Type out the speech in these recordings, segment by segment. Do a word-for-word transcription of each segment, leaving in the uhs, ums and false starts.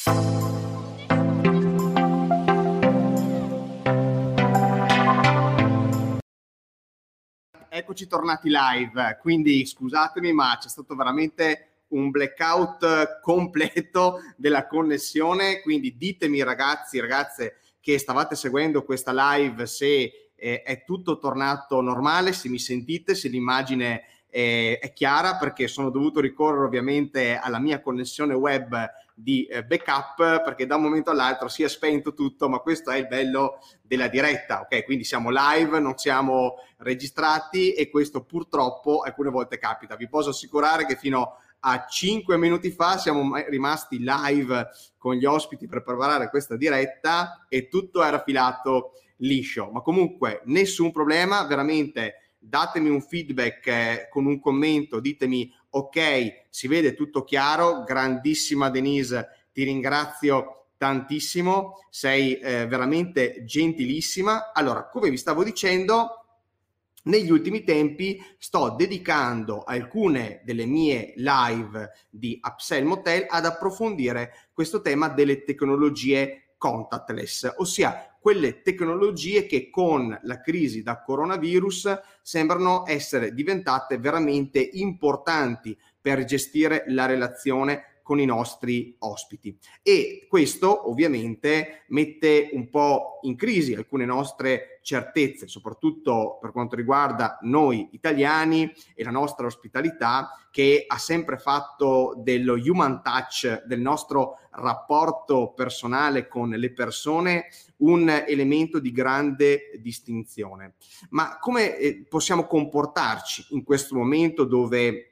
Eccoci tornati live, quindi scusatemi ma c'è stato veramente un blackout completo della connessione, quindi ditemi ragazzi, ragazze che stavate seguendo questa live se eh, è tutto tornato normale, se mi sentite, se l'immagine eh, è chiara, perché sono dovuto ricorrere ovviamente alla mia connessione web di eh, backup, perché da un momento all'altro si è spento tutto, ma questo è il bello della diretta, ok? Quindi siamo live, non siamo registrati e questo purtroppo alcune volte capita. Vi posso assicurare che fino a cinque minuti fa siamo rimasti live con gli ospiti per preparare questa diretta e tutto era filato liscio, ma comunque nessun problema, veramente datemi un feedback eh, con un commento, ditemi ok, si vede tutto chiaro, grandissima Denise, ti ringrazio tantissimo, sei eh, veramente gentilissima. Allora, come vi stavo dicendo, negli ultimi tempi sto dedicando alcune delle mie live di Upsell Motel ad approfondire questo tema delle tecnologie contactless, ossia quelle tecnologie che con la crisi da coronavirus sembrano essere diventate veramente importanti per gestire la relazione con i nostri ospiti, e questo ovviamente mette un po' in crisi alcune nostre certezze, soprattutto per quanto riguarda noi italiani e la nostra ospitalità, che ha sempre fatto dello human touch, del nostro rapporto personale con le persone, un elemento di grande distinzione. Ma come eh, possiamo comportarci in questo momento dove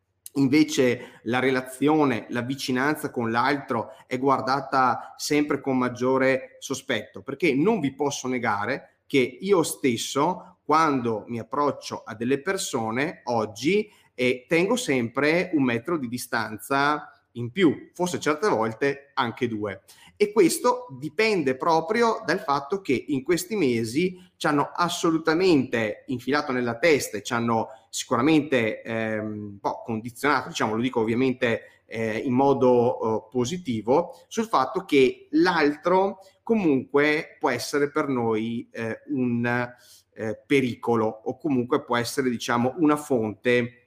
invece la relazione, la vicinanza con l'altro è guardata sempre con maggiore sospetto? Perché non vi posso negare che io stesso, quando mi approccio a delle persone oggi, eh, tengo sempre un metro di distanza in più, forse certe volte anche due. E questo dipende proprio dal fatto che in questi mesi ci hanno assolutamente infilato nella testa e ci hanno sicuramente ehm, un po' condizionato, diciamo, lo dico ovviamente eh, in modo eh, positivo, sul fatto che l'altro comunque può essere per noi eh, un eh, pericolo, o comunque può essere, diciamo, una fonte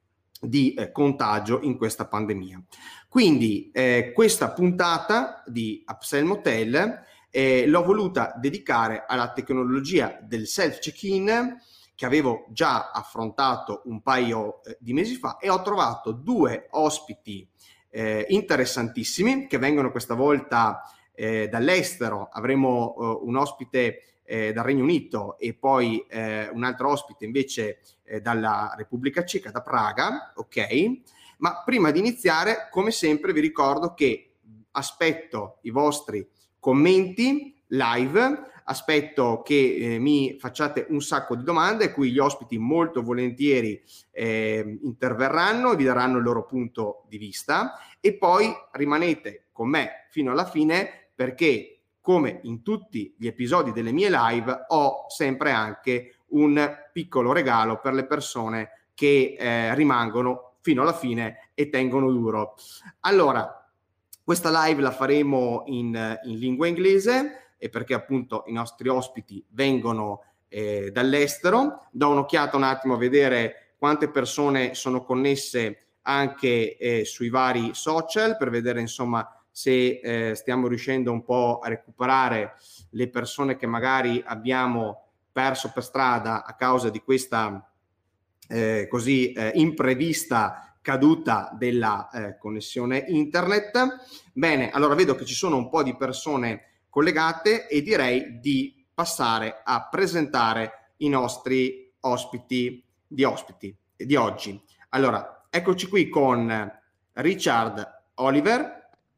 di eh, contagio in questa pandemia. Quindi eh, questa puntata di Upsell Motel eh, l'ho voluta dedicare alla tecnologia del self check-in, che avevo già affrontato un paio eh, di mesi fa, e ho trovato due ospiti eh, interessantissimi che vengono questa volta eh, dall'estero. Avremo eh, un ospite eh, dal Regno Unito e poi eh, un altro ospite invece eh, dalla Repubblica Ceca, da Praga, ok? Ma prima di iniziare, come sempre, vi ricordo che aspetto i vostri commenti live, aspetto che eh, mi facciate un sacco di domande, a cui gli ospiti molto volentieri eh, interverranno e vi daranno il loro punto di vista, e poi rimanete con me fino alla fine, perché come in tutti gli episodi delle mie live ho sempre anche un piccolo regalo per le persone che eh, rimangono fino alla fine e tengono duro. Allora, questa live la faremo in, in lingua inglese, e perché appunto i nostri ospiti vengono eh, dall'estero. Do un'occhiata un attimo a vedere quante persone sono connesse anche eh, sui vari social, per vedere insomma se eh, stiamo riuscendo un po' a recuperare le persone che magari abbiamo perso per strada a causa di questa eh, così eh, imprevista caduta della eh, connessione internet. Bene, allora vedo che ci sono un po' di persone collegate e direi di passare a presentare i nostri ospiti di ospiti di oggi. Allora, eccoci qui con Richard Oliver.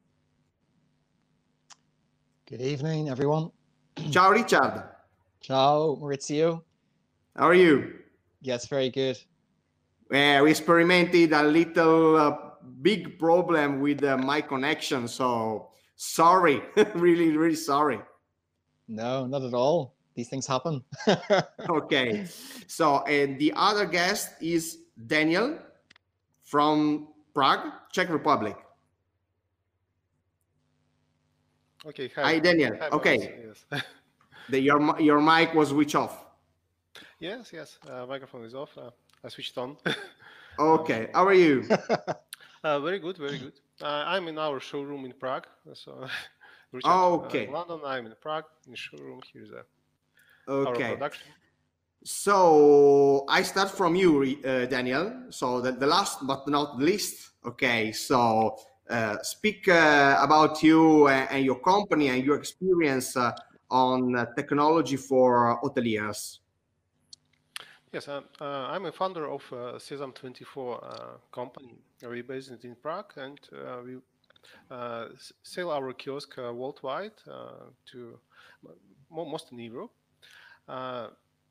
Good evening, everyone. Ciao Richard. Ciao Maurizio. How are you? Yes, very good. Uh, we experimented a little uh, big problem with uh, my connection, so sorry, really, really sorry. No, not at all. These things happen. Okay, so and the other guest is Daniel from Prague, Czech Republic. Okay, hi. Hi, Daniel. Hi, Okay, Maurizio, yes. the, your mi- your mic was switched off. Yes, yes, uh, microphone is off. Uh, I switched on. Okay, how are you? Uh, very good, very good. Uh, I'm in our showroom in Prague. So, Richard, uh, in Okay, London, I'm in Prague, in the showroom. Here's uh, our okay. production. So I start from you, uh, Daniel. So the, the last but not least, okay. So uh, speak uh, about you and, and your company and your experience uh, on uh, technology for hoteliers. Yes, uh, uh, I'm a founder of uh, Sesam twenty-four uh, company. We're based in Prague, and uh, we uh, s- sell our kiosk uh, worldwide uh, to mo- most in Europe. Uh,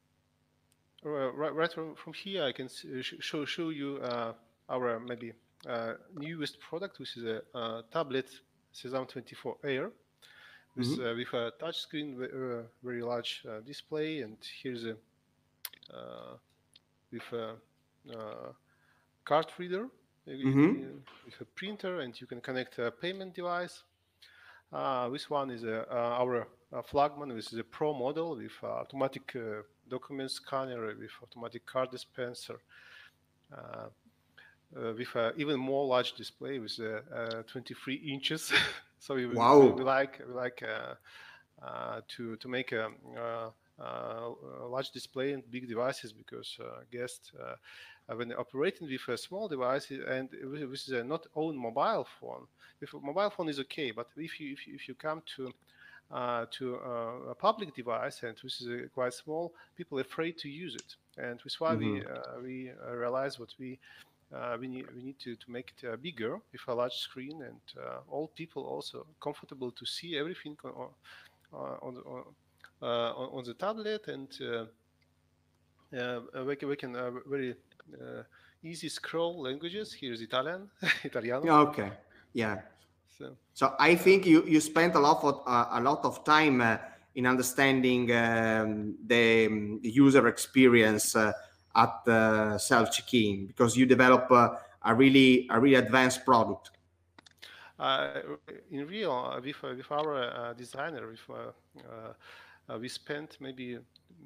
Uh, right, right from, from here, I can s- uh, sh- show show you uh, our maybe uh, newest product, which is a uh, tablet Sesam twenty-four Air with Mhm. uh, with a touch screen, ve- uh, very large uh, display, and here's a uh, with a uh, card reader uh, Mhm. uh, with a printer, and you can connect a payment device. Uh, this one is a, uh, our uh, flagman. This is a pro model with uh, automatic uh, document scanner with automatic card dispenser. Uh, uh, with an even more large display with uh, uh, twenty-three inches. So we, we, we Wow. like we like uh, uh, to to make a, uh, uh, a large display and big devices because uh, guests uh, uh, when operating with a small device and this is a not own mobile phone. If a mobile phone is okay, but if you if you, if you come to uh, to uh, a public device and which is uh, quite small, people are afraid to use it, and that's why Mhm. we uh, we uh, realize what we uh, we need we need to, to make it uh, bigger with a large screen and uh, all people also comfortable to see everything on on on, the- on, uh, on on the tablet and uh, uh, we can, we can uh, very uh, easy scroll languages. Here's Italian, Italiano. Okay. Yeah. So So I uh, think you you spent a lot of uh, a lot of time uh, in understanding um, the, um, the user experience uh, at uh, self check-in because you develop uh, a really a really advanced product. uh, in real, uh, with uh, with our uh, designer, with uh, uh, uh, we spent maybe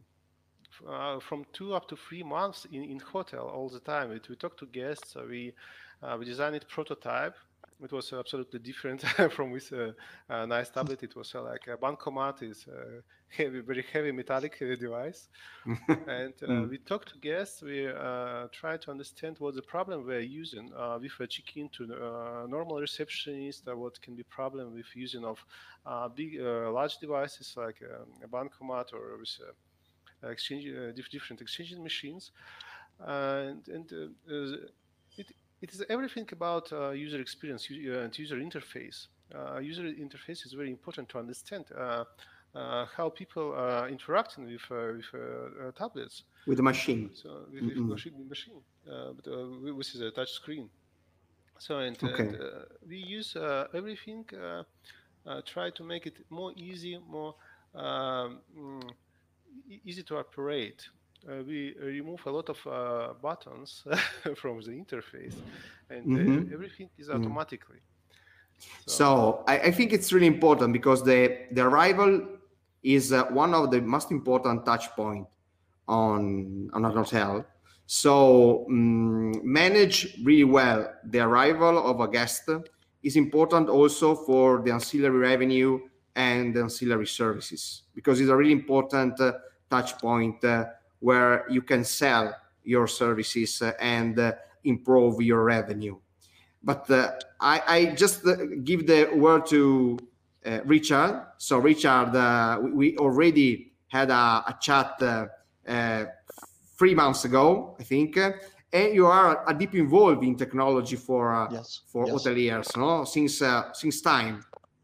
uh, from two up to three months in, in hotel all the time. We, we talk to guests. Uh, we uh, we designed prototype. It was absolutely different from this uh, uh, nice tablet. It was uh, like a bancomat is a heavy, very heavy metallic uh, device. And uh, Mm. we talk to guests. We uh, try to understand what the problem we're using uh, with a check-in to uh, normal receptionist. Uh, what can be problem with using of uh, big, uh, large devices like um, a bancomat or with a exchange uh, different exchanging machines and and uh, uh, it it is everything about uh, user experience uh, and user interface. Uh, user interface is very important to understand uh, uh, how people are interacting with uh, with uh, uh, tablets. With the machine. So with, with Mm-mm. machine machine, uh, but uh, which is a touch screen. So and and Okay. uh, we use uh, everything. Uh, uh, try to make it more easy, more um, mm, e- easy to operate. Uh, we remove a lot of uh, buttons from the interface, and uh, Mm-hmm. everything is Mm. automatically. So So I, I think it's really important because the the arrival is uh, one of the most important touch point on on a hotel. So um, manage really well the arrival of a guest is important also for the ancillary revenue and the ancillary services because it's a really important uh, touch point uh, where you can sell your services uh, and uh, improve your revenue. But uh, I, I just uh, give the word to uh, Richard. So Richard, uh, we, we already had a, a chat uh, uh, three months ago, I think, uh, and you are a deep involved in technology for uh, Yes. for Yes. hoteliers, no? Since uh, since time.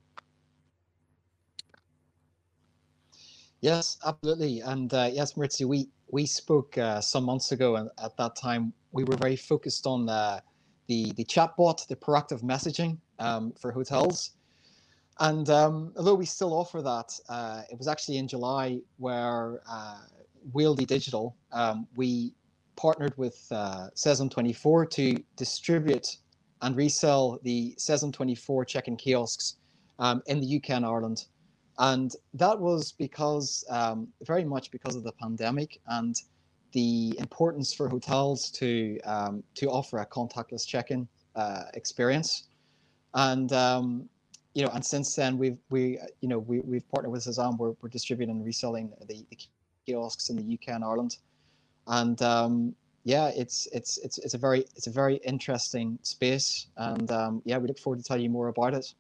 Yes, absolutely. And uh, yes, Maurizio, we we spoke uh, some months ago, and at that time we were very focused on uh, the the chatbot, the proactive messaging um, for hotels. And um, although we still offer that, uh, it was actually in July where uh, Wieldy Digital, um, we partnered with uh, Sesam twenty-four to distribute and resell the Sesam twenty-four check-in kiosks um, in the U K and Ireland. And that was because, um, very much because of the pandemic and the importance for hotels to um, to offer a contactless check-in uh, experience. And um, you know, and since then we've we you know we we've partnered with Sezam. We're we're distributing and reselling the, the kiosks in the U K and Ireland. And um, yeah, it's it's it's it's a very it's a very interesting space. And um, yeah, we look forward to telling you more about it.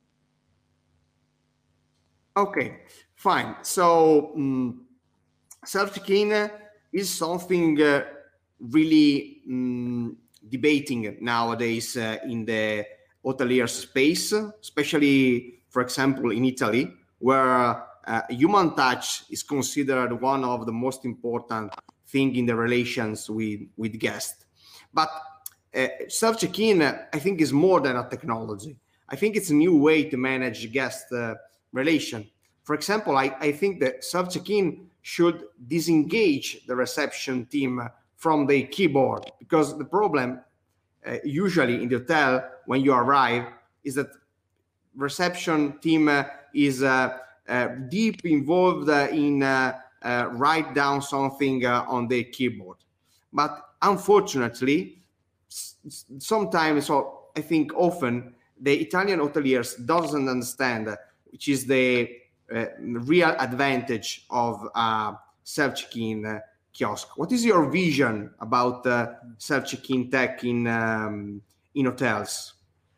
Okay, fine. So um, self-check-in is something uh, really um, debating nowadays uh, in the hotelier space, especially, for example, in Italy, where uh, human touch is considered one of the most important thing in the relations with, with guests. But uh, self-check-in, I think, is more than a technology. I think it's a new way to manage guest uh, relation. For example, I, I think that self-check-in should disengage the reception team from the keyboard, because the problem uh, usually in the hotel when you arrive is that reception team uh, is uh, uh, deep involved uh, in uh, uh, write down something uh, on the keyboard. But unfortunately, sometimes, or I think often, the Italian hoteliers doesn't understand which is the uh, real advantage of uh, self-check-in uh, kiosk. What is your vision about uh, self-check-in tech in um, in hotels,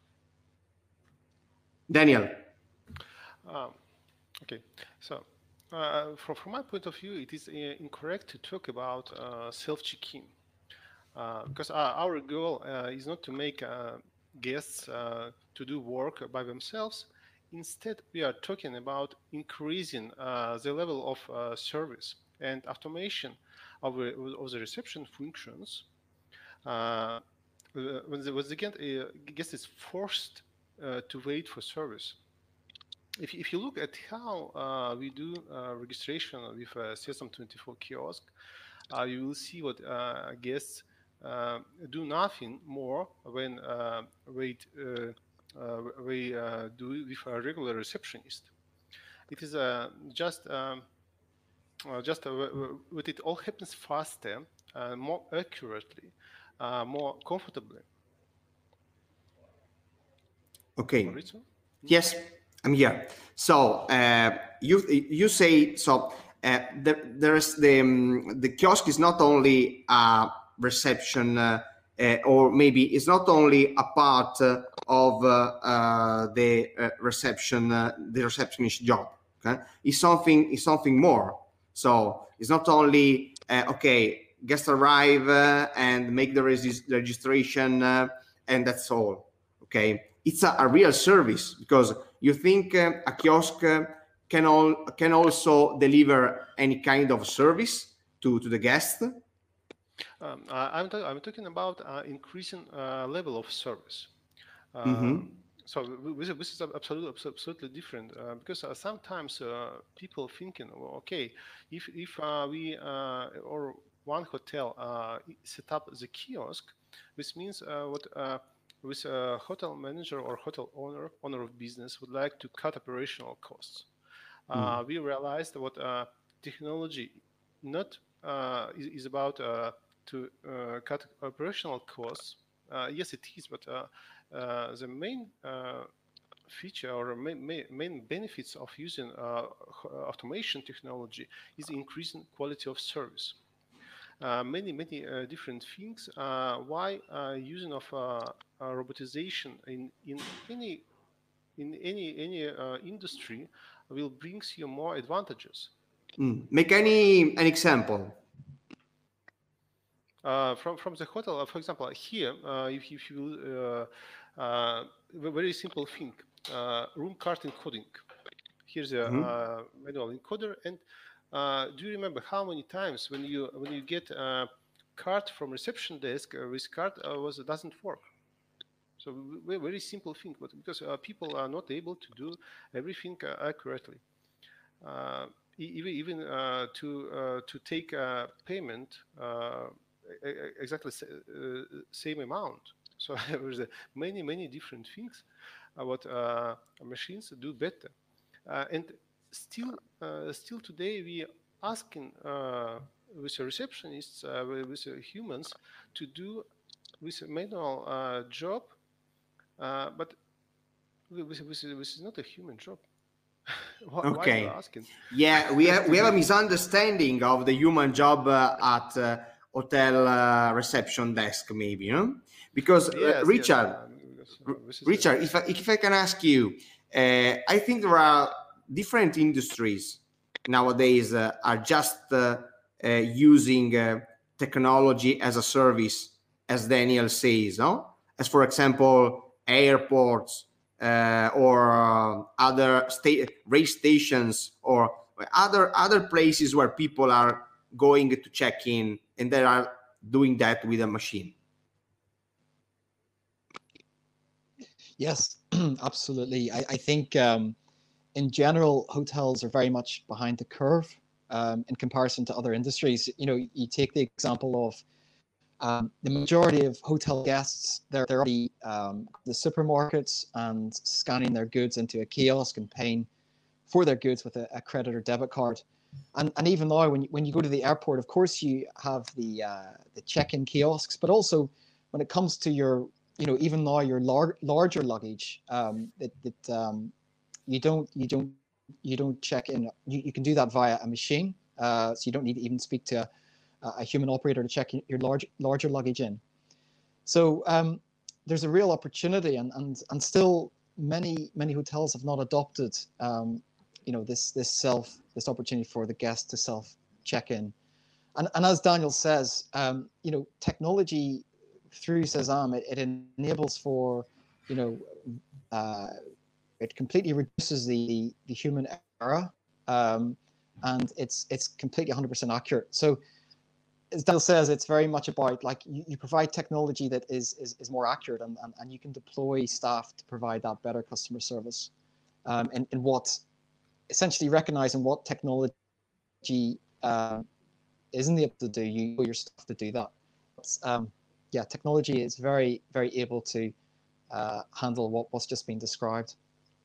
Daniel? Um, okay, so uh, from, from my point of view, it is uh, incorrect to talk about uh, self-check-in uh, because our, our goal uh, is not to make uh, guests uh, to do work by themselves. Instead, we are talking about increasing uh, the level of uh, service and automation of, of the reception functions. Uh, when the, when the guest is forced uh, to wait for service. If, if you look at how uh, we do uh, registration with a Sesam twenty-four kiosk, uh, you will see what uh, guests uh, do nothing more when uh, wait. Uh, Uh, we uh, do with a regular receptionist. It is uh, just um, uh, just uh, with it all happens faster, uh, more accurately, uh, more comfortably. Okay. Maurizio? Yes, I'm here. So uh, you you say so. Uh, there, there's the um, the kiosk is not only a reception, uh, uh, or maybe it's not only a part uh, of uh, uh, the uh, reception, uh, the receptionist job. Okay, it's something it's something more. So it's not only uh, okay, guests arrive uh, and make the regis- registration, uh, and that's all. Okay, it's a, a real service, because you think uh, a kiosk uh, can all can also deliver any kind of service to to the guest. Um, I, I'm, I'm talking about uh, increasing uh, level of service. Uh, Mm-hmm. So this, this is absolutely absolutely different uh, because uh, sometimes uh, people thinking, well, okay, if if uh, we uh, or one hotel uh, set up the kiosk, this means uh, what uh, with a hotel manager or hotel owner owner of business would like to cut operational costs. Uh, mm. We realized what uh, technology not uh, is, is about uh, to uh, cut operational costs. Uh, yes, it is, but uh, uh, the main uh, feature or main, main benefits of using uh, automation technology is increasing quality of service. Uh, many, many uh, different things. Uh, why uh, using of uh, robotization in, in any in any any uh, industry will brings you more advantages. Mm. Make any an example. Uh, from from the hotel, uh, for example, here, uh, if, if you uh, uh, very simple thing, uh, room card encoding. Here's a mm-hmm. uh, manual encoder, and uh, do you remember how many times when you when you get a card from reception desk, uh, this card uh, was doesn't work? So very, very simple thing, but because uh, people are not able to do everything uh, accurately. Uh, even even uh, to uh, to take a payment. Uh, exactly uh, same amount. So there's many many different things uh, what uh, machines do better. Uh, and still, uh, still today we asking uh, with the receptionists, uh, with with the humans, to do with a manual uh, job, uh, but with, with, with, with not a human job. why, why you Okay. asking? Yeah, we have To we have a do- misunderstanding of the human job uh, at uh, hotel uh, reception desk, maybe, no? Because uh, yes, yes. Richard, Uh, because, uh, R- this is a, Richard, if I, if I can ask you, uh, I think there are different industries nowadays uh, are just uh, uh, using uh, technology as a service, as Daniel says, no? As for example, airports uh, or uh, other sta- race stations or other other places where people are going to check in, and they are doing that with a machine. Yes, absolutely. I, I think um, in general, hotels are very much behind the curve um, in comparison to other industries. You know, you take the example of um, the majority of hotel guests, they're, they're already um, the supermarkets and scanning their goods into a kiosk and paying for their goods with a, a credit or debit card. And, and even now, when you, when you go to the airport, of course, you have the uh, the check-in kiosks, but also when it comes to your, you know, even now your lar- larger luggage, um, that, that um, you don't you don't you don't check in. You, you can do that via a machine, uh, so you don't need to even speak to a, a human operator to check your large larger luggage in. So um, there's a real opportunity, and and and still many many hotels have not adopted um, you know this this self this opportunity for the guest to self check in. And and as Daniel says, um, you know technology through Sesam, it, it enables for you know uh, it completely reduces the the human error, um, and it's it's completely one hundred percent accurate. So as Daniel says, it's very much about like you, you provide technology that is is, is more accurate, and, and, and you can deploy staff to provide that better customer service. Um, and, and what essentially recognizing what technology um, isn't able to do, you your staff to do that. But, um, yeah, technology is very very able to uh, handle what, what's just been described.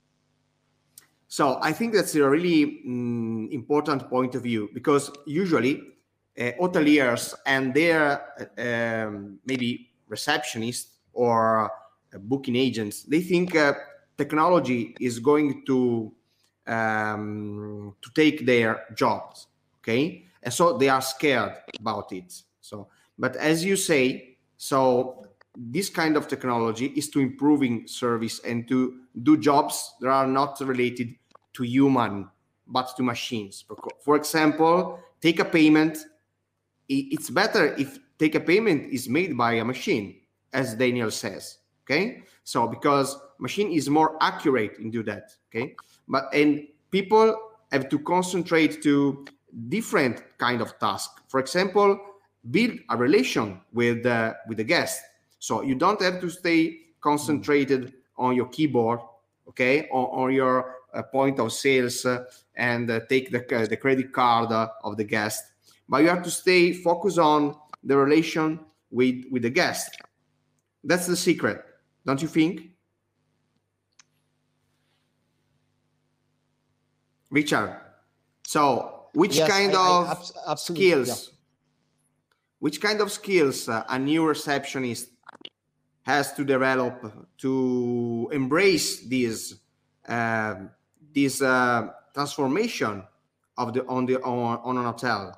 So I think that's a really mm, important point of view, because usually uh, hoteliers and their uh, um, maybe receptionists or uh, booking agents, they think uh, technology is going to um, to take their jobs, okay? And so they are scared about it. So, but as you say, so this kind of technology is to improving service and to do jobs that are not related to human but to machines. For example, take a payment. It's better if take a payment is made by a machine, as Daniel says. Okay, so because machine is more accurate in do that. Okay, but and people have to concentrate to different kind of task. For example, build a relation with uh, with the guest. So you don't have to stay concentrated on your keyboard, okay, on, on your uh, point of sales uh, and uh, take the, uh, the credit card uh, of the guest, but you have to stay focused on the relation with with the guest. That's the secret, don't you think, Richard? So which Yes, kind I, I of abs- absolutely, yeah. skills which kind of skills uh, a new receptionist has to develop to embrace this uh, this uh, transformation of the on the on, on an hotel?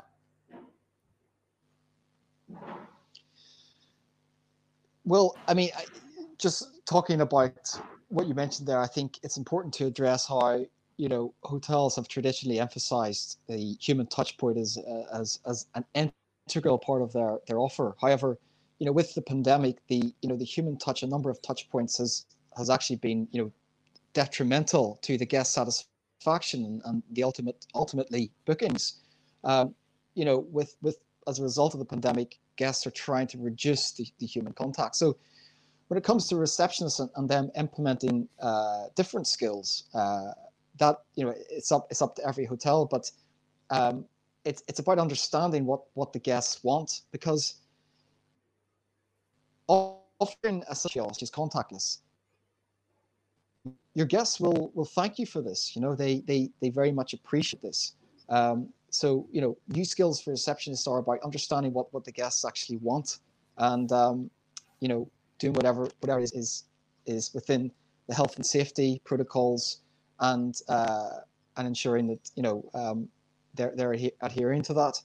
Well, I mean, I, just talking about what you mentioned there, I think it's important to address how you know hotels have traditionally emphasized the human touch point as uh, as as an integral part of their their offer. However, you know, with the pandemic, the you know the human touch, a number of touch points has has actually been you know detrimental to the guest satisfaction and, and the ultimate ultimately bookings. Um, you know, with with as a result of the pandemic, guests are trying to reduce the, the human contact. So when it comes to receptionists and, and them implementing uh, different skills, uh, that you know it's up it's up to every hotel, but um, it's it's about understanding what what the guests want, because offering a kiosk is contactless. your guests will will thank you for this. You know, they they they very much appreciate this. Um, so you know, new skills for receptionists are about understanding what what the guests actually want, and um, you know, doing whatever whatever is is, is within the health and safety protocols, and uh, and ensuring that you know um, they're they're adhering to that.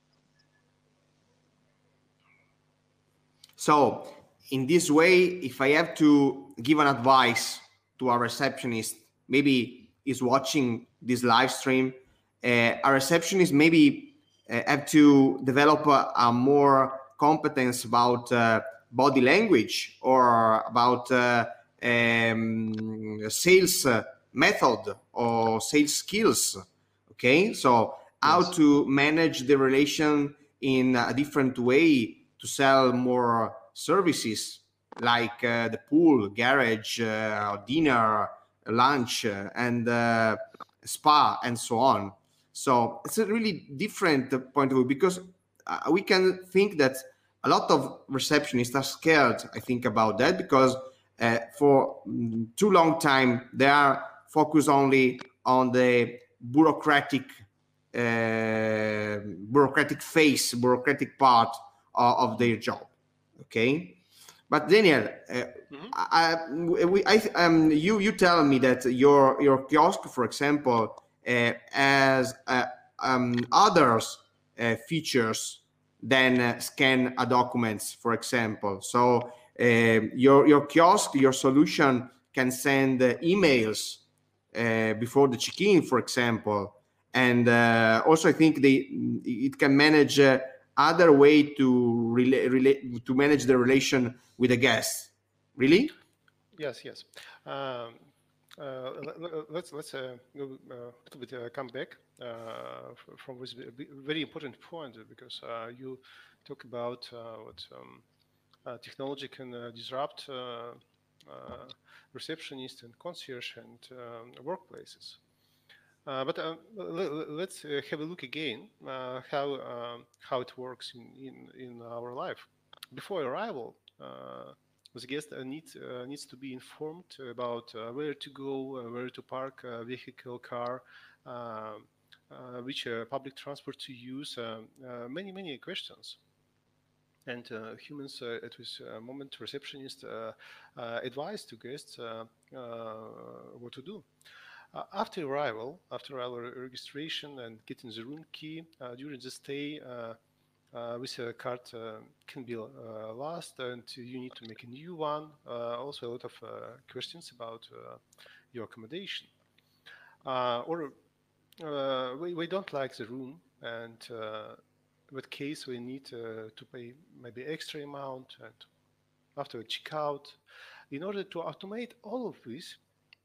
So in this way, if I have to give an advice to a receptionist, maybe is watching this live stream, uh, a receptionist maybe uh, have to develop a, a more competence about uh, body language or about uh, um, sales method or sales skills. Okay, so how Yes. to manage the relation in a different way to sell more services like uh, the pool, garage, uh, dinner, lunch, uh, and uh, spa, and so on. So it's a really different point of view, because uh, we can think that a lot of receptionists are scared, I think, about that, because uh, for mm, too long time they are focused only on the bureaucratic uh, bureaucratic phase, bureaucratic part of, of their job. Okay, but Daniel, uh, mm-hmm. I, we, I, um, you you tell me that your your kiosk, for example, uh, has uh, um, others uh, features than uh, scan a documents, for example. So uh, your your kiosk, your solution can send uh, emails uh, before the check-in, for example, and uh, also I think they it can manage uh, other way to relate relate to manage the relation with the guest. Really? Yes, yes. Um, uh, let's let's uh, go a uh, little bit uh, come back uh, from this very important point, because uh, you talk about uh, what um, uh, technology can uh, disrupt uh, uh, receptionists and concierge and um, workplaces. Uh, but uh, let's uh, have a look again uh, how um, how it works in, in in our life. Before arrival, uh, the guest uh, needs uh, needs to be informed about uh, where to go, uh, where to park a vehicle, car, uh, uh, which uh, public transport to use. Uh, uh, many many questions. And uh, humans uh, at this uh, moment, receptionists uh, uh, advise to guests uh, uh, what to do. Uh, after arrival, after our registration and getting the room key, uh, during the stay, uh, uh, with a card uh, can be uh, lost, and you need to make a new one. Uh, also, a lot of uh, questions about uh, your accommodation. Uh, or uh, we, we don't like the room, and uh, in that case, we need uh, to pay maybe extra amount, and after a checkout, in order to automate all of this.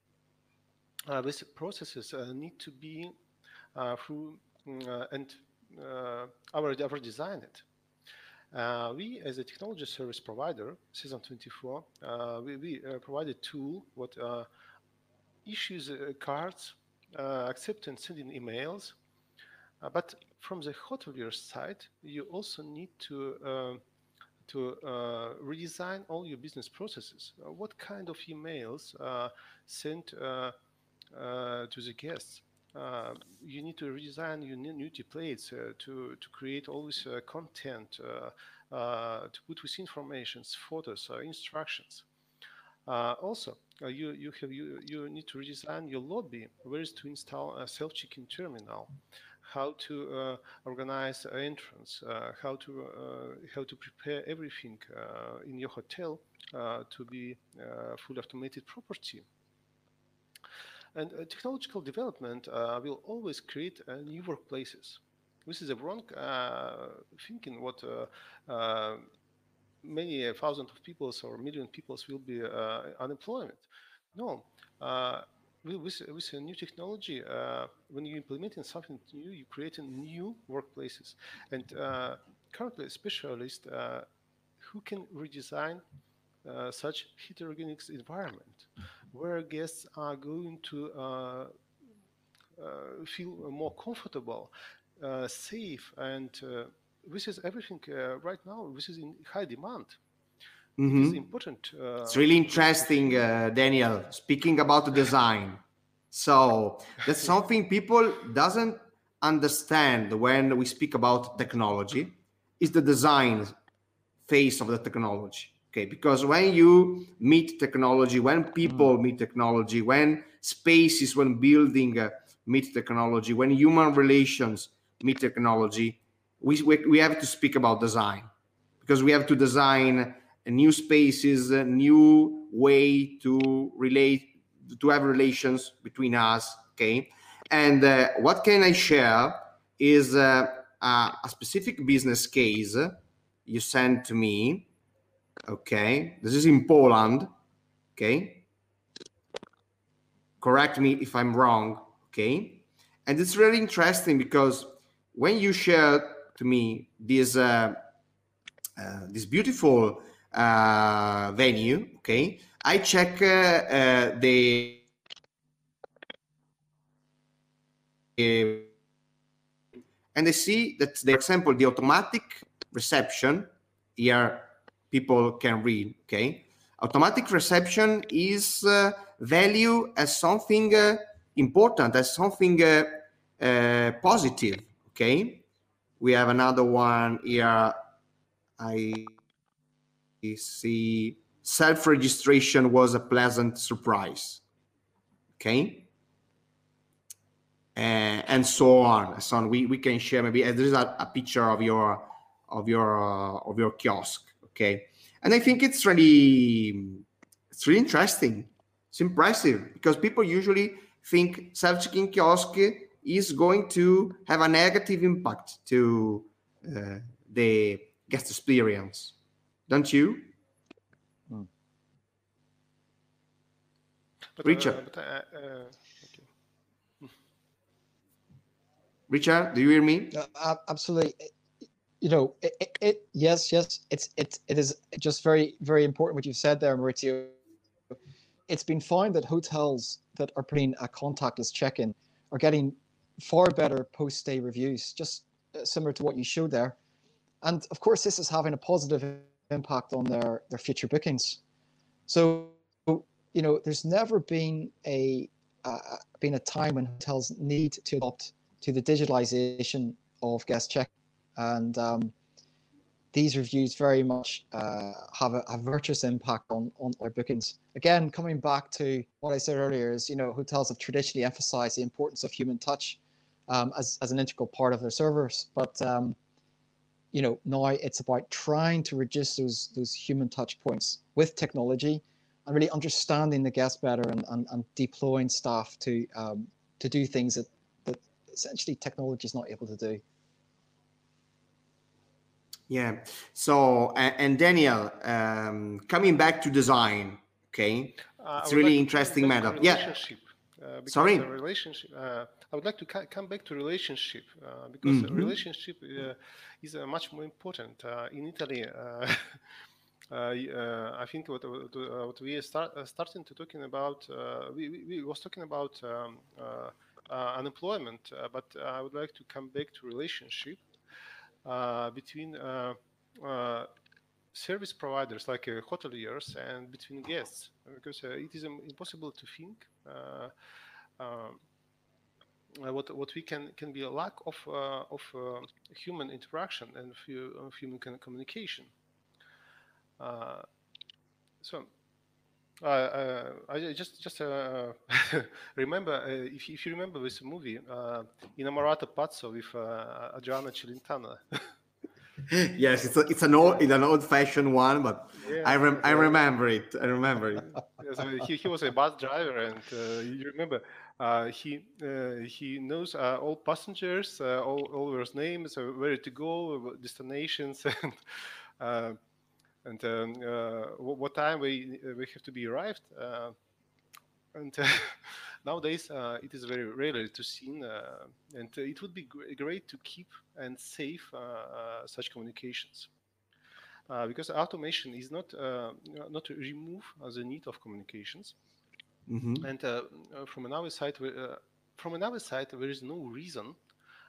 Uh, these processes uh, need to be uh, through uh, and uh, our, our design it. Uh, we, as a technology service provider, Season twenty-four, uh, we, we uh, provide a tool what uh, issues uh, cards, uh, accept and sending emails. Uh, but from the hotelier side, you also need to uh, to uh, redesign all your business processes. Uh, what kind of emails uh, sent uh, uh, to the guests? Uh, you need to redesign your new templates uh, to to create all this uh, content, uh, uh, to put with information, photos, uh, instructions. Uh, also, uh, you you have you you need to redesign your lobby. Where is to install a self-check-in terminal? How to uh, organize an entrance? Uh, how to uh, how to prepare everything uh, in your hotel uh, to be uh, fully automated property. And uh, technological development uh, will always create uh, new workplaces. This is a wrong uh, thinking what uh, uh, many uh, thousands of people or million people will be uh, unemployment. No, uh, with, with a new technology, uh, when you're implementing something new, you're creating new workplaces. And uh, currently, specialists uh, who can redesign uh, such heterogeneous environment where guests are going to uh, uh, feel more comfortable, uh, safe, and uh, this is everything uh, right now. This is in high demand. Mm-hmm. It is important. Uh, it's really interesting, uh, Daniel, speaking about the design. So that's something people doesn't understand when we speak about technology, is the design phase of the technology. Okay, because when you meet technology, when people mm. meet technology, when spaces, when building uh, meet technology, when human relations meet technology, we, we, we have to speak about design, because we have to design new spaces, a new way to relate, to have relations between us. Okay, and uh, what can I share is uh, a, a specific business case you sent to me. Okay, this is in Poland. Okay, correct me if I'm wrong. Okay, and it's really interesting because when you share to me this uh, uh, this beautiful uh, venue, okay, I check uh, uh, the and I see that, for example, the automatic reception here people can read. Okay, automatic reception is uh, value as something uh, important, as something uh, uh, positive. Okay, we have another one here. I see self-registration was a pleasant surprise. Okay. Uh, and so on. So on. We we can share maybe uh, there is a, a picture of your of your uh, of your kiosk. Okay, and I think it's really it's really interesting. It's impressive because people usually think self-checking kiosk is going to have a negative impact to uh, the guest experience, don't you? Hmm. But, Richard. Uh, but, uh, uh, okay. Richard, do you hear me? Uh, absolutely. You know, it, it, it yes, yes, it's it it is just very very important what you said there, Maurizio. It's been found that hotels that are putting a contactless check-in are getting far better post-stay reviews, just similar to what you showed there. And of course, this is having a positive impact on their their future bookings. So, you know, there's never been a uh, been a time when hotels need to adopt to the digitalization of guest check, and um, these reviews very much uh, have a, a virtuous impact on on our bookings. Again, coming back to what I said earlier, is you know hotels have traditionally emphasized the importance of human touch um, as as an integral part of their service, but um, you know now it's about trying to reduce those those human touch points with technology, and really understanding the guest better, and, and, and deploying staff to um, to do things that that essentially technology is not able to do. Yeah. So, and, and Daniel, um, coming back to design, okay, uh, it's really like interesting matter. Yeah. Uh, because Sorry. The relationship. Uh, I would like to ca- come back to relationship uh, because mm-hmm. relationship uh, is uh, much more important uh, in Italy. Uh, uh, I think what what, what we are start, uh, starting to talking about. Uh, we, we we was talking about um, uh, uh, unemployment, uh, but I would like to come back to relationship uh, between. Uh, uh, service providers like uh, hoteliers and between guests, because uh, it is um, impossible to think uh, uh, what what we can can be a lack of uh, of uh, human interaction and of human communication. Uh, so. Uh, uh, I just just uh, remember uh, if, if you remember this movie uh, Innamorato Pazzo with uh, Adriana Celentano. Yes, it's a, it's an old it's an old-fashioned one, but yeah, I rem- I remember it. I remember it. Yeah, so he he was a bus driver, and uh, you remember uh, he uh, he knows uh, all passengers, uh, all all their names, uh, where to go, destinations, and uh, and um, uh, what time we we have to be arrived. Uh, and uh, nowadays uh, it is very rare to see, uh, and uh, it would be gr- great to keep and save uh, uh, such communications. Uh, because automation is not uh, not to remove uh, the need of communications, mm-hmm. and uh, from another side, uh, from another side, there is no reason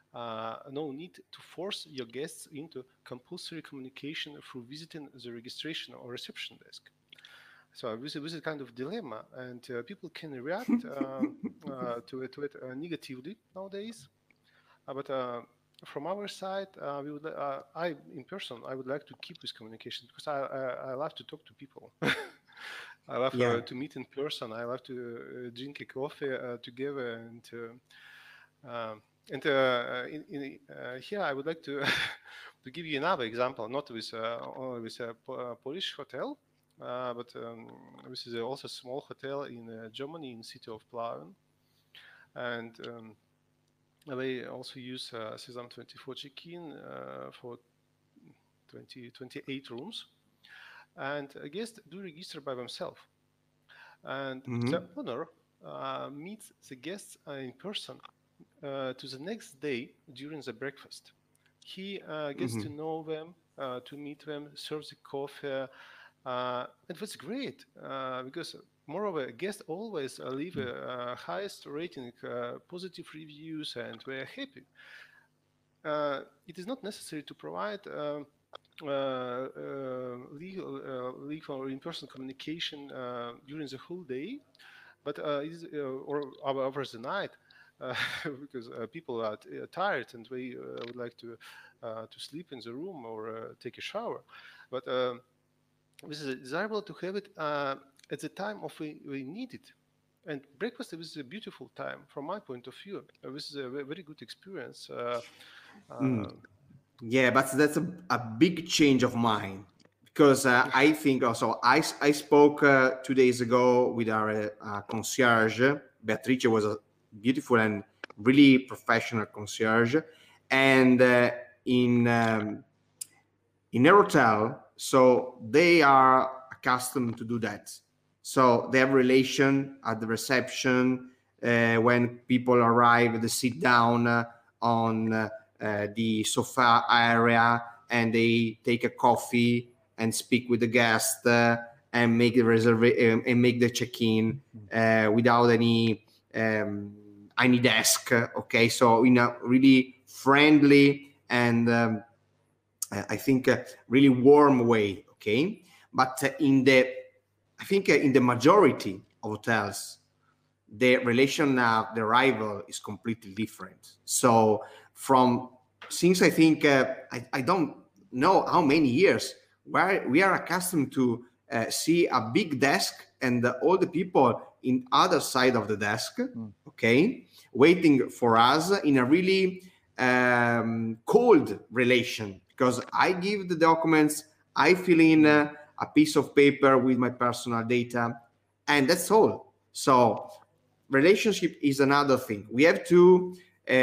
uh, no need to force your guests into compulsory communication through visiting the registration or reception desk. So this is a kind of dilemma, and uh, people can react um, uh, to it, to it uh, negatively nowadays. Uh, but uh, from our side, uh, we would, uh, I in person, I would like to keep this communication because I I, I love to talk to people. I love Yeah. uh, to meet in person. I love to uh, drink a coffee uh, together, and uh, um, and uh, in, in, uh, here I would like to to give you another example, not with uh, only with a po- uh, Polish hotel, uh, but um, this is also a small hotel in uh, Germany, in the city of Plauen, and um, they also use uh, Sesam twenty-four check-in uh, for twenty, twenty-eight rooms, and a guest do register by themselves. And Mhm. the owner uh, meets the guests uh, in person uh, to the next day during the breakfast. He uh, gets to Mhm. know them, uh, to meet them, serves the coffee, uh, and that's great uh, because moreover, guests always uh, leave a uh, highest rating, uh, positive reviews, and we're happy. Uh, it is not necessary to provide um, uh, uh, legal, uh, legal or in-person communication uh, during the whole day, but uh, it is, uh, or over the night, uh, because uh, people are t- uh, tired and they uh, would like to uh, to sleep in the room or uh, take a shower. But um this is desirable to have it uh, at the time of we, we need it. And breakfast is a beautiful time from my point of view. Uh, this is a ve- very good experience. Uh, Mm. uh, Yeah, but that's a, a big change of mind because uh, I think also I, s- I spoke uh, two days ago with our uh, concierge. Beatrice was a beautiful and really professional concierge, and uh, in um, in a hotel, so they are accustomed to do that. So they have relation at the reception uh, when people arrive, they sit down uh, on uh, uh, the sofa area and they take a coffee and speak with the guest uh, and make the reservation and make the check-in uh, without any um, any desk. Okay, so in a really friendly and um, I think a really warm way, okay? But uh, in the, I think uh, in the majority of hotels, the relation of the arrival is completely different. So from, since I think, uh, I, I don't know how many years, where we are accustomed to uh, see a big desk and uh, all the people in other side of the desk, Mm. okay, waiting for us in a really um, cold relation because I give the documents, I fill in uh, a piece of paper with my personal data, and that's all. So relationship is another thing. We have to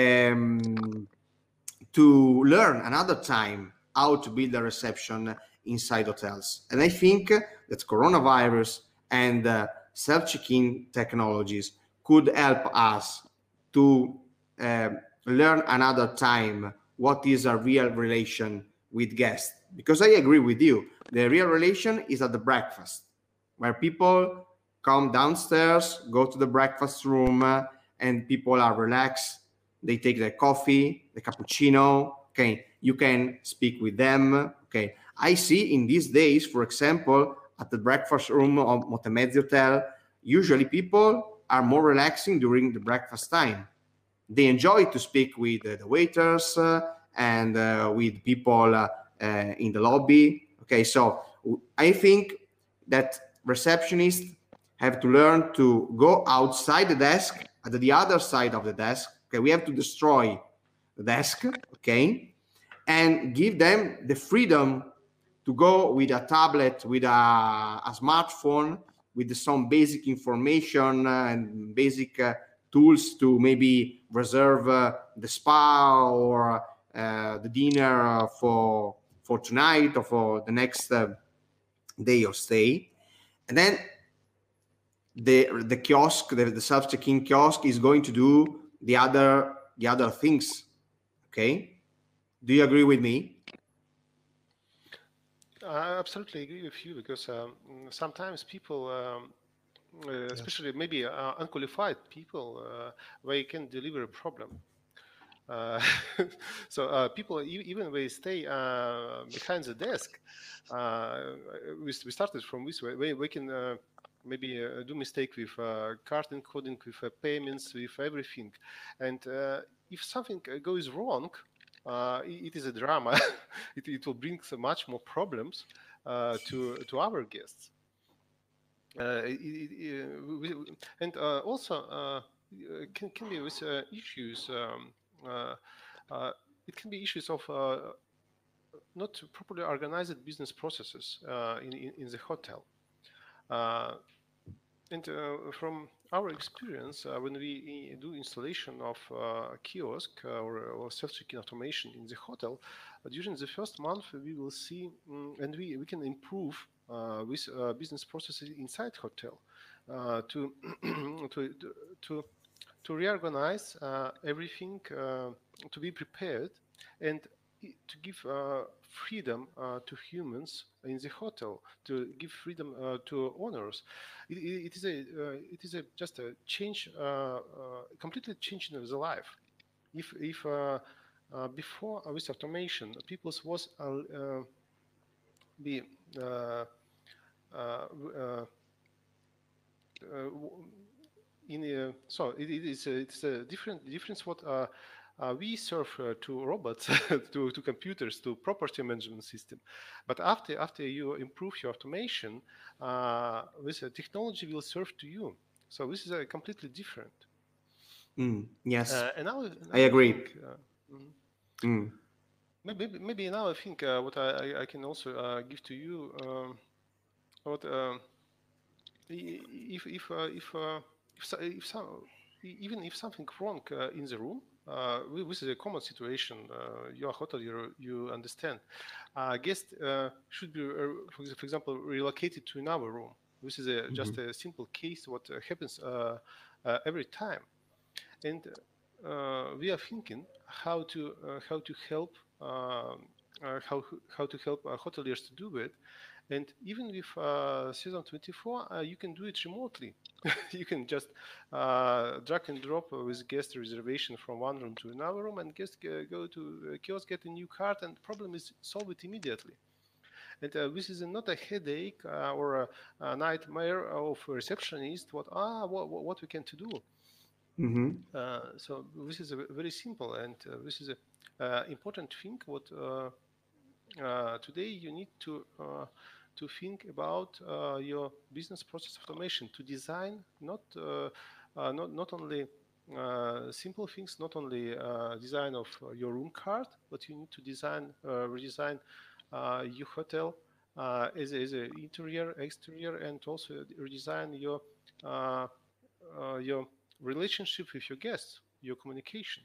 um, to learn another time how to build a reception inside hotels. And I think that coronavirus and uh, self-check-in technologies could help us to um, learn another time what is a real relation with guests. Because I agree with you, the real relation is at the breakfast, where people come downstairs, go to the breakfast room, uh, and people are relaxed. They take their coffee, the cappuccino. Okay, you can speak with them. Okay, I see in these days, for example, at the breakfast room of Motemezzi Hotel, usually people are more relaxing during the breakfast time. They enjoy to speak with uh, the waiters uh, and uh, with people uh, uh, in the lobby. Okay, so I think that receptionists have to learn to go outside the desk at the other side of the desk. Okay, we have to destroy the desk. Okay, and give them the freedom to go with a tablet, with a, a smartphone, with some basic information uh, and basic uh, tools to maybe reserve uh, the spa or uh, the dinner uh, for for tonight or for the next uh, day of stay. And then the the kiosk, the, the self check-in kiosk, is going to do the other the other things. Okay, do you agree with me? I absolutely agree with you because um, sometimes people, um, uh, Yes. especially maybe uh, unqualified people, uh, they can deliver a problem. Uh, so uh, people, e- even they stay uh, behind the desk. Uh, we, we started from this way. We, we can uh, maybe uh, do mistake with uh, card encoding, with uh, payments, with everything. And uh, if something uh, goes wrong, uh, it, it is a drama. it, it will bring so much more problems uh, to to our guests. Uh, it, it, uh, we, and uh, also uh, can can be with uh, issues. Um, uh, uh, it can be issues of uh, not properly organized business processes uh, in, in in the hotel. Uh, and uh, from our experience, uh, when we do installation of uh, kiosk uh, or, or self-check-in automation in the hotel, uh, during the first month we will see, um, and we, we can improve uh, with uh, business processes inside hotel uh, to, to to to reorganize uh, everything, uh, to be prepared, and to give uh, freedom uh, to humans in the hotel, to give freedom uh, to owners. It, it is a uh, it is a just a change, uh, uh, completely changing the life. If if uh, uh, before uh, with automation, people was uh, uh, be uh, uh, uh, uh, in a, so it, it is a, it's a different difference what uh, uh, we serve uh, to robots, to, to computers, to property management system. But after after you improve your automation, uh, this uh, technology will serve to you. So this is a completely different. Mm, yes, Uh, and now, I now agree. I think, uh, mm, Mm. maybe maybe now I think uh, what I, I can also uh, give to you um, what. Um, if if uh, if uh, if, so, if some, even if something wrong uh, in the room, uh, this is a common situation. Uh, you are hotel, you you understand. Uh, guest uh, should be, uh, for, for example, relocated to another room. This is a, mm-hmm. just a simple case. What uh, happens uh, uh, every time, and uh, we are thinking how to uh, how to help uh, uh, how how to help uh, hoteliers to do it. And even with uh, season twenty-four, uh, you can do it remotely. You can just uh, drag and drop with guest reservation from one room to another room, and guest go to a kiosk, get a new card, and the problem is solved immediately. And uh, this is not a headache uh, or a, a nightmare of a receptionist. What ah what, what we can to do? Mm-hmm. Uh, so this is a very simple, and uh, this is a uh, important thing. What uh, uh, today you need to uh, to think about uh, your business process automation, to design not uh, uh, not not only uh, simple things, not only uh, design of your room card, but you need to design uh, redesign uh, your hotel uh, as a, as a interior, exterior, and also redesign your uh, uh, your relationship with your guests, your communication.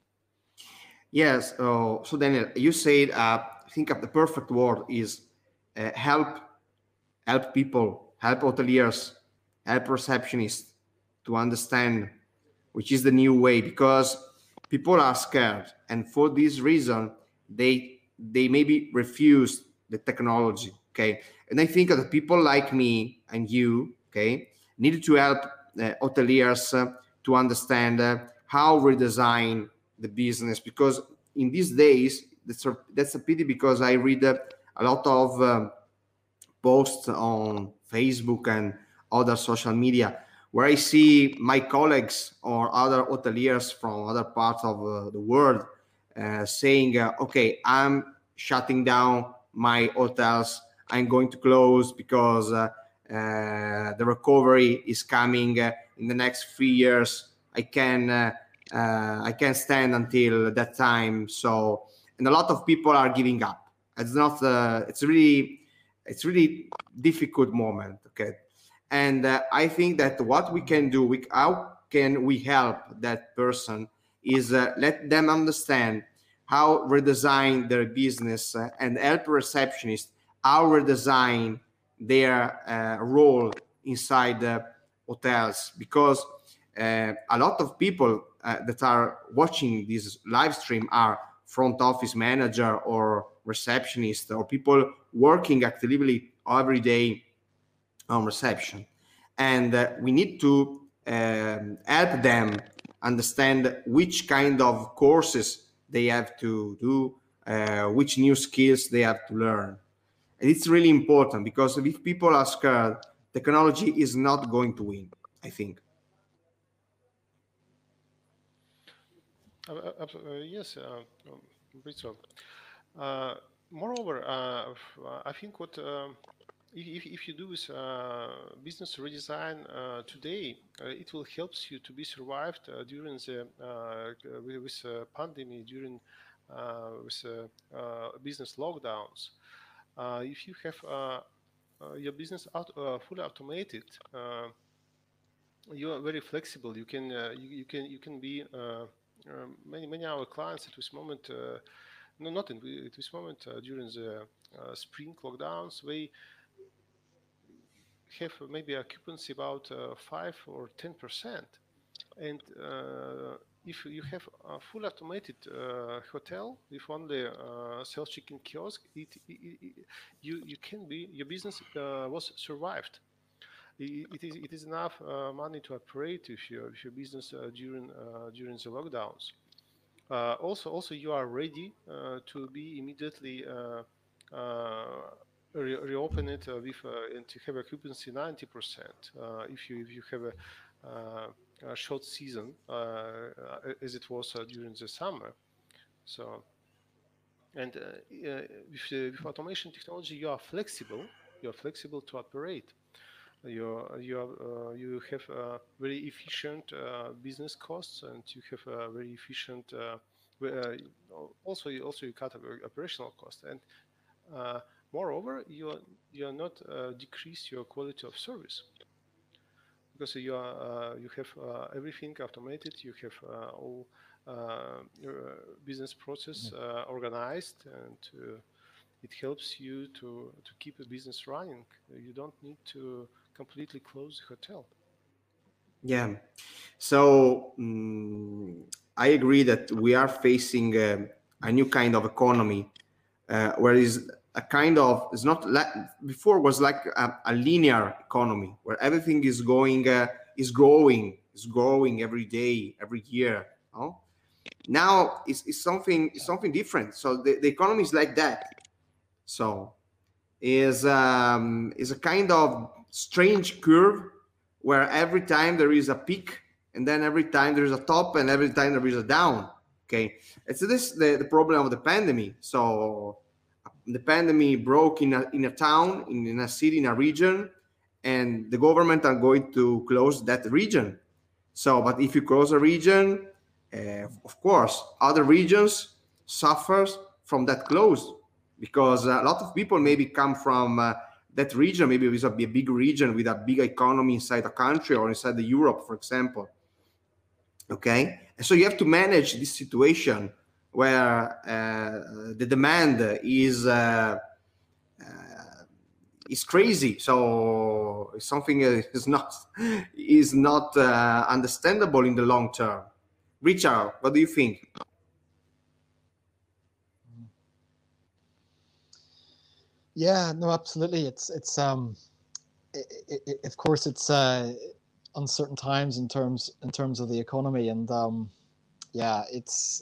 Yes. Uh, so Daniel, you said uh, I think of the perfect word is uh, help, help people, help hoteliers, help receptionists to understand which is the new way, because people are scared, and for this reason they they maybe refuse the technology. Okay, and I think that people like me and you, okay, need to help uh, hoteliers uh, to understand uh, how redesign the business, because in these days that's a, that's a pity, because I read uh, a lot of um, posts on Facebook and other social media where I see my colleagues or other hoteliers from other parts of uh, the world uh, saying, uh, okay, I'm shutting down my hotels. I'm going to close because uh, uh, the recovery is coming uh, in the next three years. I can uh, uh, I can stand until that time. So, and a lot of people are giving up. It's not. Uh, it's really, it's really difficult moment. Okay, and uh, I think that what we can do, we, how can we help that person, is uh, let them understand how redesign their business uh, and help receptionists how redesign their uh, role inside the hotels, because uh, a lot of people uh, that are watching this live stream are front office manager or receptionist or people working actively every day on reception, and uh, we need to um, help them understand which kind of courses they have to do, uh, which new skills they have to learn. And it's really important, because if people are scared, technology is not going to win, I think. Uh, uh, uh, yes, uh, um, uh, moreover, uh, I think what um, if, if you do with uh, business redesign uh, today, uh, it will help you to be survived uh, during the uh, with, with uh, pandemic, during uh, with uh, uh, business lockdowns. Uh, if you have uh, uh, your business out, uh, fully automated, uh, you are very flexible. You can uh, you, you can you can be uh, uh, many many our clients at this moment. Uh, no, not in at this moment uh, during the uh, spring lockdowns, they have maybe occupancy about uh, five or ten percent, and uh, if you have a full automated uh, hotel with only uh, self-checking kiosk, it, it, it, you you can be your business uh, was survived. It, it is it is enough uh, money to operate if your if your business uh, during uh, during the lockdowns. Uh, also also you are ready uh, to be immediately uh, uh, re reopen it uh, with uh, and to have occupancy ninety percent uh, if you if you have a, uh, a short season uh, as it was uh, during the summer. So and uh, uh, with, uh, with automation technology you are flexible. You are flexible to operate. You you uh, you have uh, very efficient uh, business costs, and you have a very efficient uh, uh, also you also you cut operational costs, and uh, moreover you are you are not uh, decrease your quality of service, because you are uh, you have uh, everything automated. You have uh, all uh, your business process uh, organized, and uh, it helps you to to keep a business running. You don't need to completely close the hotel. Yeah. So um, I agree that we are facing uh, a new kind of economy, uh, where is a kind of, it's not like before was like a, a linear economy where everything is going uh, is growing is growing every day, every year. No? Now it's, it's something it's something different. So the, the economy is like that. So is um, is a kind of strange curve where every time there is a peak, and then every time there is a top, and every time there is a down. Okay, it's this the, the problem of the pandemic. So the pandemic broke in a in a town, in, in a city, in a region, and the government are going to close that region. So, but if you close a region, uh, of course, other regions suffers from that close, because a lot of people maybe come from uh, that region. Maybe it's a, a big region with a big economy inside a country or inside the Europe, for example. Okay, and so you have to manage this situation where uh, the demand is uh, uh, is crazy. So something is not is not uh, understandable in the long term. Richard, what do you think? Yeah, no, absolutely. It's it's um, it, it, it, of course it's uh, uncertain times in terms in terms of the economy, and um, yeah, it's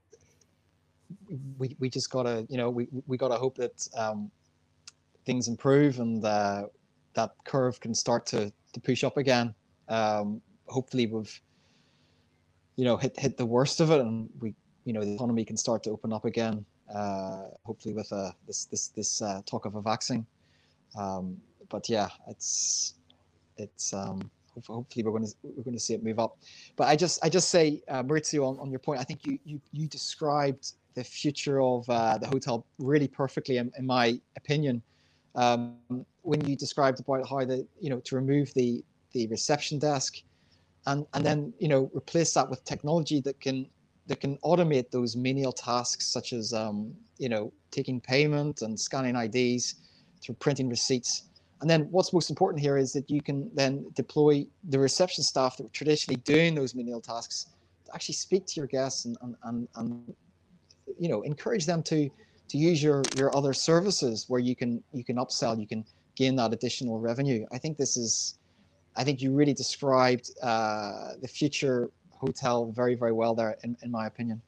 we we just gotta you know we we gotta hope that um, things improve and uh, that curve can start to to push up again. Um, hopefully, we've you know hit hit the worst of it, and we you know the economy can start to open up again. Uh, hopefully with uh, this this this uh, talk of a vaccine, um, but yeah, it's it's um, hopefully we're going to we're going to see it move up. But I just I just say uh, Maurizio, on, on your point, I think you you you described the future of uh, the hotel really perfectly, in, in my opinion, um, when you described about how the you know to remove the the reception desk, and and then you know replace that with technology that can that can automate those menial tasks, such as um, you know taking payment and scanning I Ds, through printing receipts. And then what's most important here is that you can then deploy the reception staff that were traditionally doing those menial tasks to actually speak to your guests and and, and, and you know encourage them to to use your your other services where you can you can upsell, you can gain that additional revenue. I think this is I think you really described uh, the future hotel very, very well there, in, in my opinion.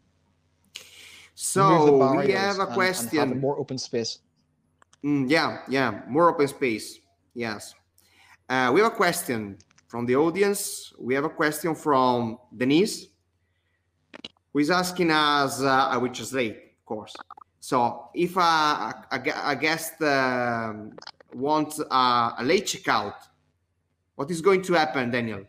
So we have a and, question. And have more open space. Mm, yeah, yeah, more open space. Yes. Uh, we have a question from the audience. We have a question from Denise, who is asking us, uh, I will translate, of course. So if a, a, a guest uh, wants a, a late checkout, what is going to happen, Daniel?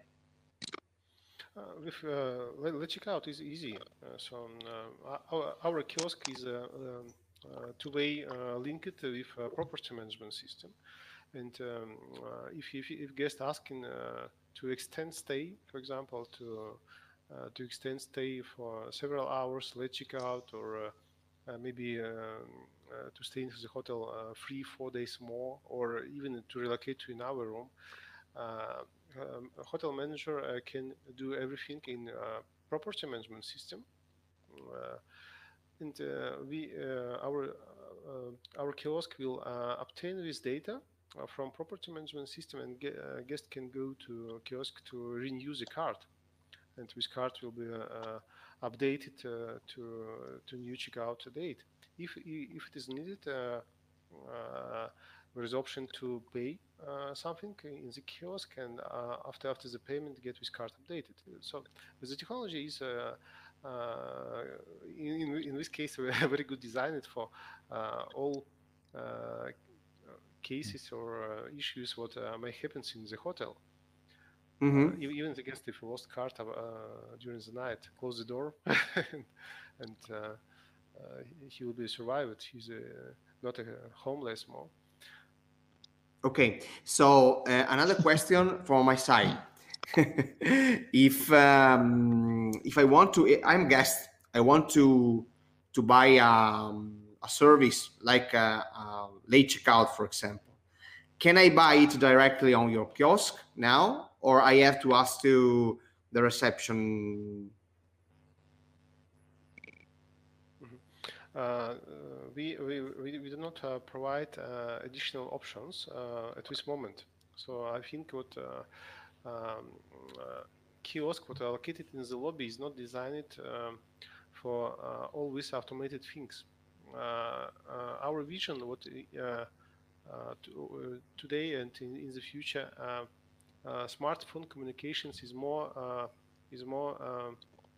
Uh, with uh, late checkout is easy. Uh, so uh, our, our kiosk is a, a, a two-way uh, linked with a property management system. And um, uh, if, if, if guest asking uh, to extend stay, for example, to uh, to extend stay for several hours, late checkout, or uh, uh, maybe um, uh, to stay in the hotel uh, three, four days more, or even to relocate to another room, uh, um, a hotel manager uh, can do everything in uh, property management system. Uh, and uh, we, uh, our uh, our kiosk will uh, obtain this data uh, from property management system, and ge uh, guest can go to kiosk to renew the card, and this card will be uh, updated uh, to to new checkout date. If if it is needed, uh, uh, there is option to pay uh, something in the kiosk, and uh, after after the payment, get this card updated. So the technology is. Uh, Uh, in, in this case, we are very good designed for uh, all uh, cases or uh, issues what uh, may happen in the hotel. Mm-hmm. uh, even the guest, if he lost card uh, during the night, close the door, and, and uh, uh, he will be survived. He's uh, not a homeless more. Okay, so uh, another question from my side. if um, if I want to, I'm a guest. I want to to buy um, a service like a, a late checkout, for example. Can I buy it directly on your kiosk now, or I have to ask to the reception? Mm-hmm. uh, we, we we we do not uh, provide uh, additional options uh, at this moment. So I think what. Uh, Um, uh, kiosk what are located in the lobby is not designed um, for uh, all these automated things. Uh, uh, our vision, what uh, uh, to, today and in, in the future, uh, uh, smartphone communications is more uh, is more um,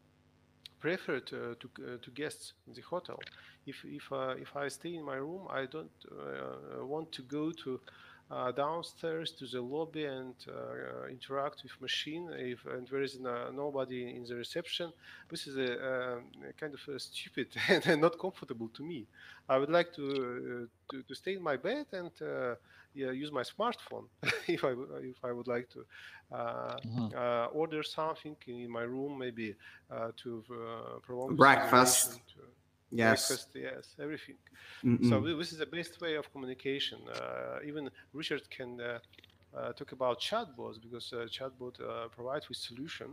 preferred uh, to uh, to guests in the hotel. If if uh, if I stay in my room, I don't uh, want to go to Uh, downstairs to the lobby and uh, interact with machine. If and there is no, nobody in the reception, this is a, uh, kind of uh, stupid and not comfortable to me. I would like to uh, to, to stay in my bed and uh, yeah, use my smartphone if I if I would like to uh, mm-hmm. uh, order something in my room, maybe uh, to uh, prolong breakfast. To, Yes. Breakfast, yes, everything. Mm-mm. So this is the best way of communication. Uh, even Richard can uh, uh, talk about chatbots, because uh, chatbot uh, provides with solution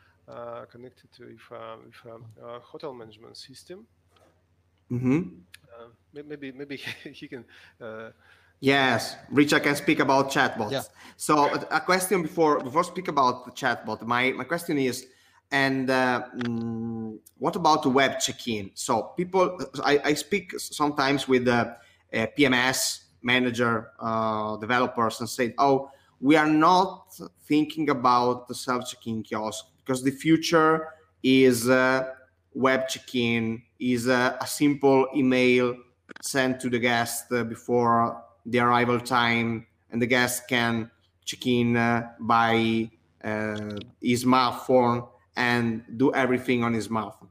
uh, connected to with, uh, with um, uh, hotel management system. Mm-hmm. Uh, maybe maybe he can. Uh, yes, Richard can speak about chatbots. Yeah. So a question before before speak about the chatbot. My my question is. And uh, mm, what about the web check-in? So people, I, I speak sometimes with the uh, P M S manager, uh, developers, and say, oh, we are not thinking about the self-check-in kiosk because the future is uh, web check-in, is uh, a simple email sent to the guest uh, before the arrival time, and the guest can check in uh, by uh, his smartphone and do everything on his smartphone.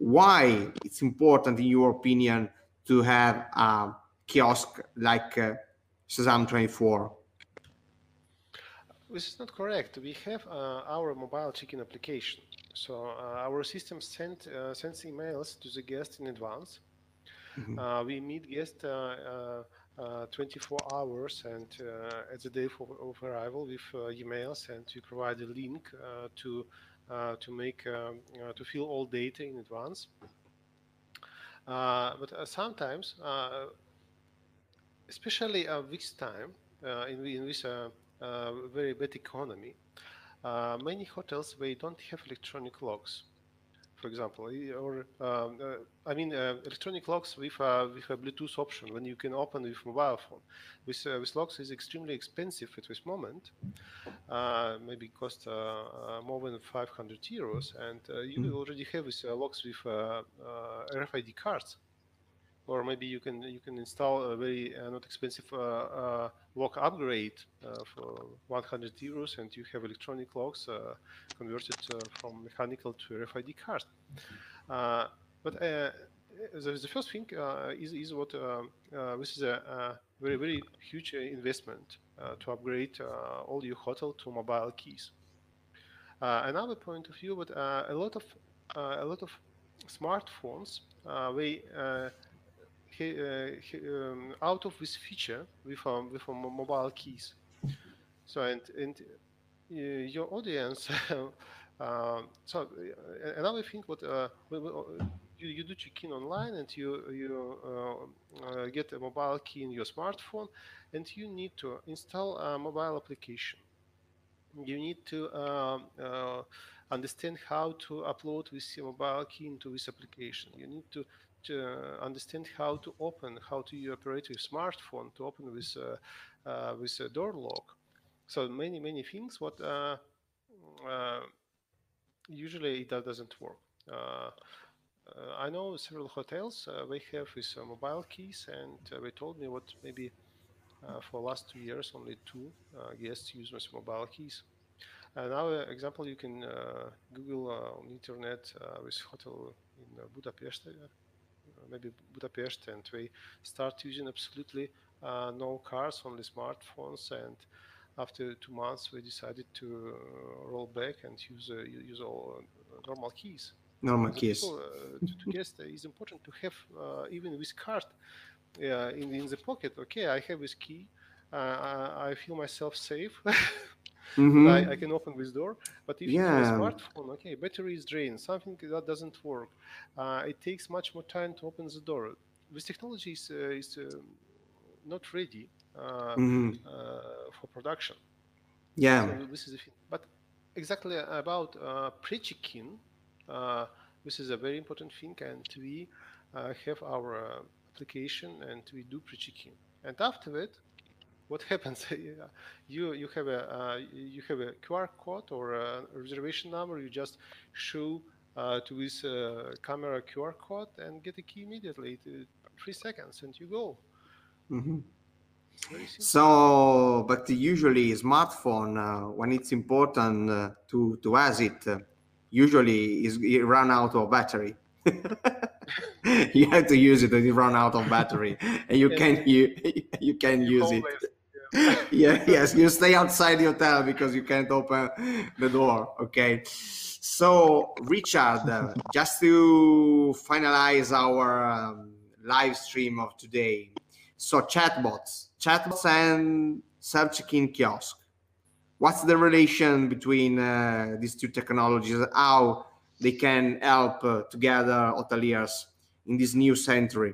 Why it's important, in your opinion, to have a kiosk like uh, Sesam twenty-four? This is not correct. We have uh, our mobile check-in application. So uh, our system send, uh, sends emails to the guest in advance. Mm-hmm. uh, we meet guests uh, uh, uh, twenty-four hours and uh, at the day of, of arrival with uh, emails, and we provide a link uh, to Uh, to make um, uh, to fill all data in advance. Uh, but uh, sometimes, uh, especially uh, this time uh, in, in this uh, uh, very bad economy, uh, many hotels, they don't have electronic locks, for example, or um, uh, I mean uh, electronic locks with a, with a Bluetooth option when you can open with mobile phone. With, uh, with locks is extremely expensive at this moment. Uh, maybe cost uh, uh, more than five hundred euros, and uh, you Mm. already have with uh, locks with uh, uh, R F I D cards. Or maybe you can you can install a very uh, not expensive uh, uh, lock upgrade uh, for one hundred euros, and you have electronic locks uh, converted uh, from mechanical to R F I D card. Uh, but uh, the, the first thing uh, is is what uh, uh, this is a, a very very huge investment uh, to upgrade uh, all your hotel to mobile keys. Uh, another point of view, but uh, a lot of uh, a lot of smartphones uh, they uh, he, uh, he, um, out of this feature with um, with um, mobile keys. So and and uh, your audience. um, so uh, another thing, what uh, you, you do check in online and you you uh, uh, get a mobile key in your smartphone, and you need to install a mobile application. You need to um, uh, understand how to upload this mobile key into this application. You need to, to understand how to open, how to operate your smartphone to open this uh, uh, this uh, door lock. So many many things. What uh, uh, usually it doesn't work. Uh, uh, I know several hotels. Uh, they have these uh, mobile keys, and uh, they told me what maybe uh, for the last two years only two uh, guests use these mobile keys. Another example, you can uh, Google uh, on internet uh, with hotel in uh, Budapest, uh, maybe Budapest, and we start using absolutely uh, no cars, only smartphones. And after two months, we decided to uh, roll back and use uh, use all uh, normal keys. Normal The keys. people uh, to, to guest, uh, it's important to have uh, even with card uh, in in the pocket. Okay, I have this key. Uh, I, I feel myself safe. Mm-hmm. That I, I can open this door. But if Yeah. you have a smartphone, okay, battery is drained, something that doesn't work. Uh, it takes much more time to open the door. This technology is, uh, is uh, not ready uh, Mm-hmm. uh, for production. Yeah. So this is the thing. But exactly about uh, pre-check-in, uh, this is a very important thing, and we uh, have our uh, application and we do pre-check-in. And after that, what happens? you you have a uh, you have a Q R code or a reservation number. You just show uh, to this uh, camera Q R code and get a key immediately. To three seconds and you go. Mm-hmm. Very simple. So, but usually smartphone uh, when it's important uh, to to has it, uh, usually is it run out of battery. You have to use it when it run out of battery, and you And can you you can you use it. homeless. Yeah. Yeah, yes, you stay outside the hotel because you can't open the door. Okay. So, Richard, uh, just to finalize our um, live stream of today. So, chatbots, chatbots and self-check-in kiosk. What's the relation between uh, these two technologies? How they can help uh, together hoteliers in this new century?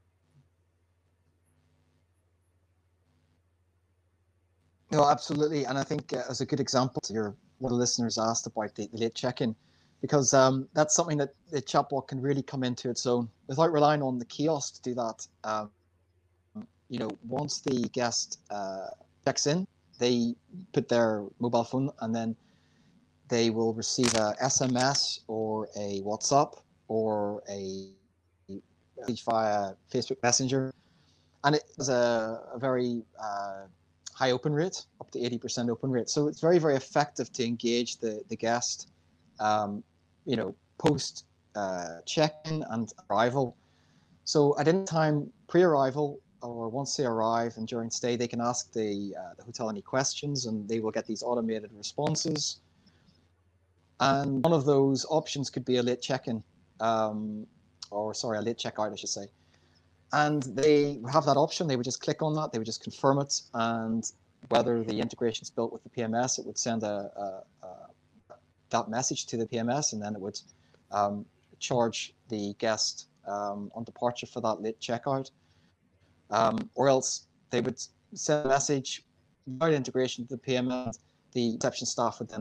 No, absolutely. And I think uh, as a good example, your one of the listeners asked about the, the late check-in, because um, that's something that the chatbot can really come into its own without relying on the kiosk to do that. Um, you know, once the guest uh, checks in, they put their mobile phone and then they will receive a S M S or a WhatsApp or a message via Facebook Messenger. And it has a, a very uh, high open rate, up to eighty percent open rate. So it's very, very effective to engage the, the guest, um, you know, post uh, check-in and arrival. So at any time pre-arrival or once they arrive and during stay, they can ask the, uh, the hotel any questions and they will get these automated responses. And one of those options could be a late check-in, um, or sorry, a late checkout, I should say. And they have that option. They would just click on that. They would just confirm it. And whether the integration is built with the P M S, it would send a, a, a that message to the P M S, and then it would um, charge the guest um, on departure for that late checkout. Um, or else they would send a message without integration to the P M S. The reception staff would then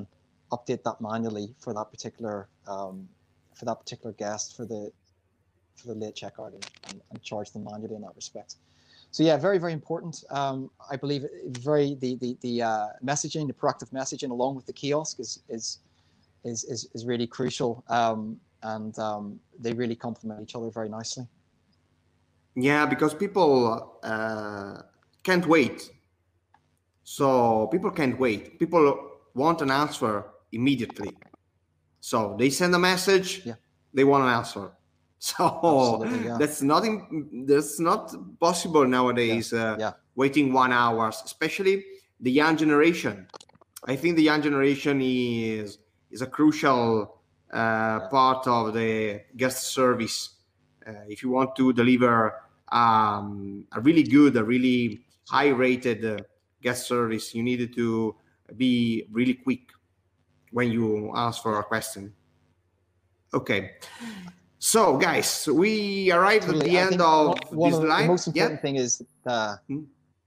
update that manually for that particular um, for that particular guest for the for the late checkout and, and, and charge them manually in that respect. So yeah, very very important. Um, I believe very the the the uh, messaging, the proactive messaging, along with the kiosk is is is is, is really crucial, um, and um, they really complement each other very nicely. Yeah, because people uh, can't wait. So people can't wait. People want an answer immediately. So they send a message, yeah. they want an answer. So yeah. that's not in, that's not possible nowadays. Yeah. Uh, yeah. Waiting one hour, especially the young generation. I think the young generation is is a crucial uh, yeah. part of the guest service. Uh, if you want to deliver um, a really good, a really high-rated uh, guest service, you need to be really quick when you ask for a question. Okay. So, guys, we arrived totally. at the I end of one this of live. The most important yeah? thing is uh, hmm?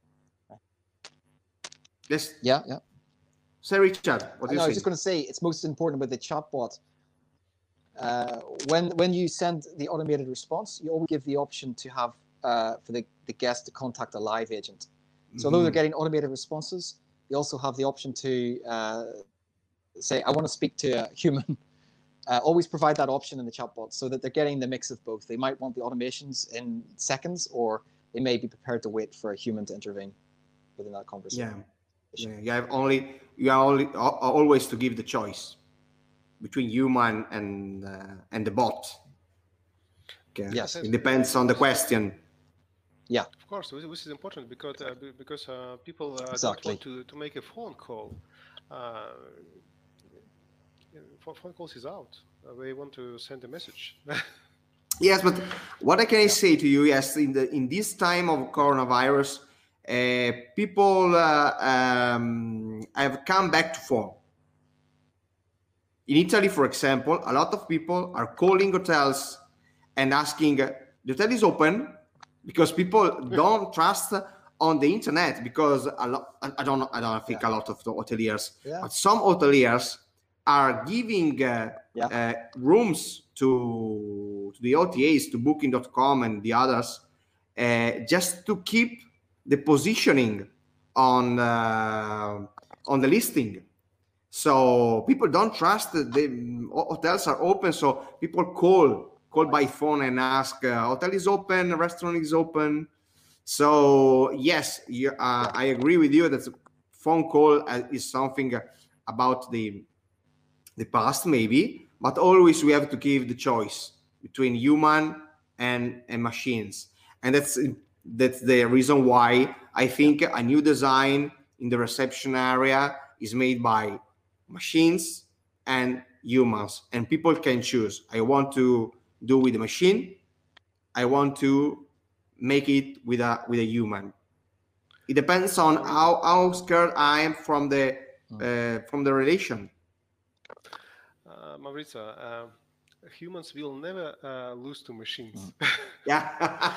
Yes. Yeah, yeah. Say, Richard, what do you I say? was just going to say it's most important with the chatbot. Uh, when when you send the automated response, you always give the option to have uh, for the, the guest to contact a live agent. So mm-hmm. although they're getting automated responses, they also have the option to uh, say, I want to speak to a human. Uh, always provide that option in the chatbot so that they're getting the mix of both. They might want the automations in seconds, or they may be prepared to wait for a human to intervene within that conversation. Yeah, yeah. You have only you are only always to give the choice between human and uh, and the bot. Okay. Yes, it depends on the question. Yeah, of course, this is important because uh, because uh, people uh, exactly. don't want to to make a phone call. Uh, phone calls is out. Uh, they want to send a message. Yes, but what I can yeah. say to you, yes, in the in this time of coronavirus, uh, people uh, um, have come back to phone. In Italy, for example, a lot of people are calling hotels and asking, uh, the hotel is open, because people don't trust on the internet, because a lot, I don't know, I don't think yeah. a lot of the hoteliers, yeah. but some hoteliers are giving uh, yeah. uh, rooms to, to the O T As, to booking dot com and the others, uh, just to keep the positioning on uh, on the listing. So people don't trust that the hotels are open. So people call call by phone and ask, uh, hotel is open, restaurant is open. So yes, you, uh, I agree with you that phone call is something about the the past maybe, but always we have to give the choice between human and, and machines. And that's that's the reason why I think a new design in the reception area is made by machines and humans, and people can choose. I want to do with the machine, I want to make it with a with a human. It depends on how, how scared I am from the uh, from the relation. Uh, Maurizio, uh, humans will never uh, lose to machines. Yeah.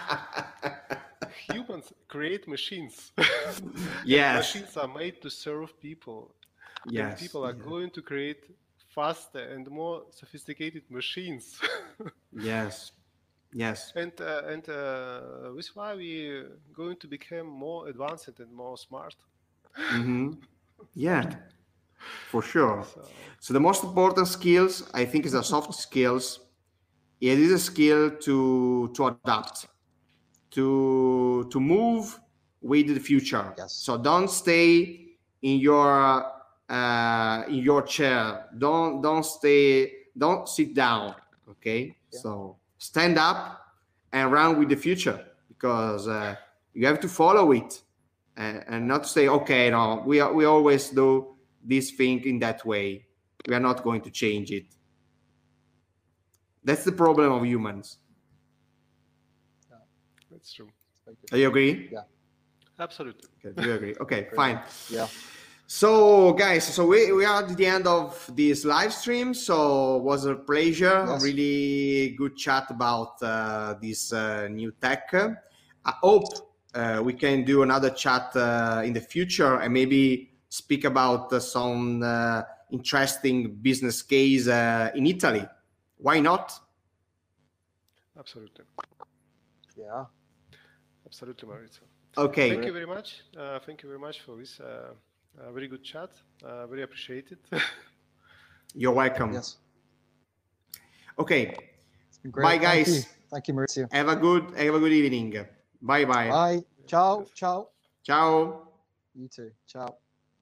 Humans create machines. Yes. Machines are made to serve people. Yes. And people are yeah. going to create faster and more sophisticated machines. Yes. Yes. And uh, and uh, this is why we're going to become more advanced and more smart. Mm-hmm. Yeah. For sure. So, so the most important skills, I think, is the soft skills. It is a skill to to adapt, to to move with the future. Yes. So don't stay in your uh, in your chair. Don't don't stay. Don't sit down. Okay. Yeah. So stand up and run with the future, because uh, you have to follow it, and, and not say, okay, no, we we always do this thing in that way. We are not going to change it. That's the problem of humans. Yeah, that's true. Do you agree? Yeah, absolutely. Okay, do you agree? Okay, fine. Yeah. So, guys, so we, we are at the end of this live stream. So it was a pleasure. Yes. A really good chat about uh, this uh, new tech. I hope uh, we can do another chat uh, in the future, and maybe speak about uh, some uh, interesting business case uh, in Italy. Why not? Absolutely. Yeah. Absolutely, Maurizio. Okay. Thank you very much. Uh, thank you very much for this uh, uh, very good chat. Uh, very appreciated. You're welcome. Yes. Okay. It's been great. Bye, Thank guys. you. Thank you, Maurizio. Have a good, have a good evening. Bye, bye. Bye. Ciao. Ciao. Ciao. You too. Ciao.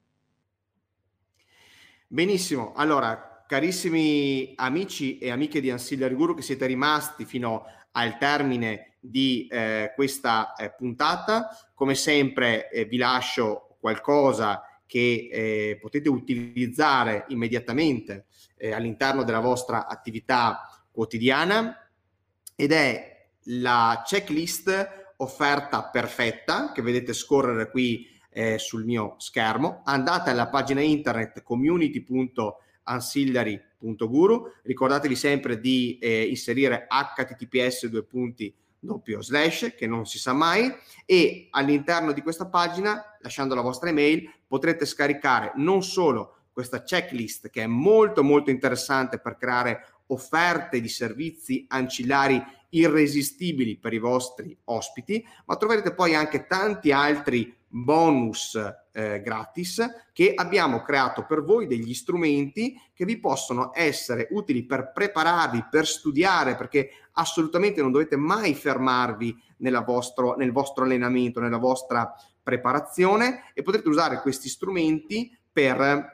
Benissimo. Allora, carissimi amici e amiche di Ancillary Guru che siete rimasti fino al termine di eh, questa eh, puntata, come sempre eh, vi lascio qualcosa che eh, potete utilizzare immediatamente eh, all'interno della vostra attività quotidiana, ed è la checklist offerta perfetta che vedete scorrere qui eh, sul mio schermo. Andate alla pagina internet community punto ancillary punto guru, ricordatevi sempre di eh, inserire h t t p s due punti doppio slash, che non si sa mai, e all'interno di questa pagina, lasciando la vostra email, potrete scaricare non solo questa checklist, che è molto molto interessante per creare offerte di servizi ancillari irresistibili per i vostri ospiti, ma troverete poi anche tanti altri bonus eh, gratis che abbiamo creato per voi, degli strumenti che vi possono essere utili per prepararvi, per studiare, perché assolutamente non dovete mai fermarvi nella vostro, nel vostro allenamento, nella vostra preparazione, e potrete usare questi strumenti per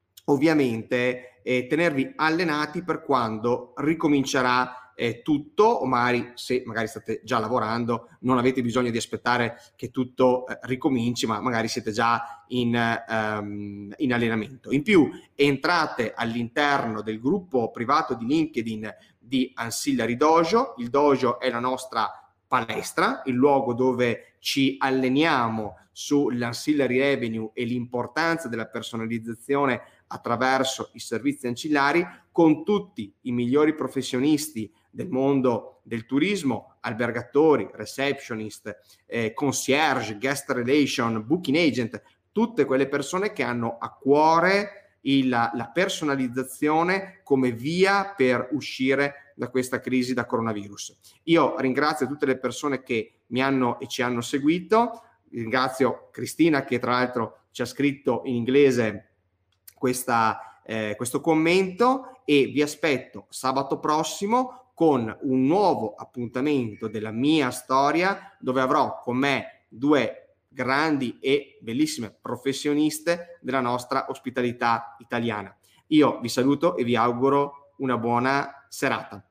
ovviamente eh, tenervi allenati per quando ricomincerà eh, tutto, o magari se magari state già lavorando non avete bisogno di aspettare che tutto eh, ricominci, ma magari siete già in, um, in allenamento. In più entrate all'interno del gruppo privato di LinkedIn di Ancillary Dojo. Il dojo è la nostra palestra, il luogo dove ci alleniamo sull'ancillary revenue e l'importanza della personalizzazione attraverso i servizi ancillari, con tutti i migliori professionisti del mondo del turismo, albergatori, receptionist, eh, concierge, guest relation, booking agent, tutte quelle persone che hanno a cuore il, la personalizzazione come via per uscire da questa crisi da coronavirus. Io ringrazio tutte le persone che mi hanno e ci hanno seguito, ringrazio Cristina che tra l'altro ci ha scritto in inglese questa, eh, questo commento, e vi aspetto sabato prossimo con un nuovo appuntamento della mia storia, dove avrò con me due grandi e bellissime professioniste della nostra ospitalità italiana. Io vi saluto e vi auguro una buona serata.